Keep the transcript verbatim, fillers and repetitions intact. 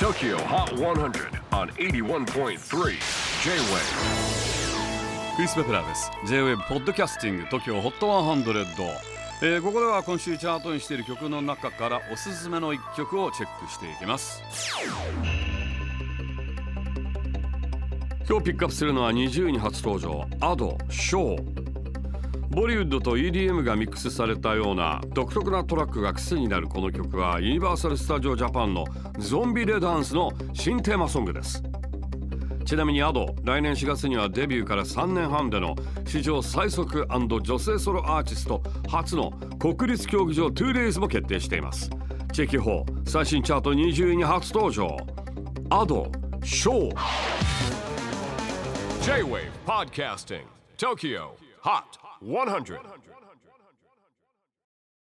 Tokyo Hot one hundred on エイティワンポイントスリー J-Wave。 クリス・ベプラーです。 J-Wave ポッドキャスティング TOKYO ホットハンドレッド、えー、ここでは今週チャートにしている曲の中からおすすめのいっきょくをチェックしていきます。今日ピックアップするのはにじゅういに初登場 アド ショー。ボリウッドと イーディーエム がミックスされたような独特なトラックが癖になるこの曲はユニバーサル・スタジオ・ジャパンのゾンビ・レダンスの新テーマソングです。ちなみにアド、来年しがつにはデビューからさんねんはんでの史上最速&女性ソロアーティスト初の国立競技場 ツーデイズ も決定しています。チェキホー最新チャートにじゅういに初登場、アド、ショー。 J-Wave Podcasting Tokyo Hot one hundred.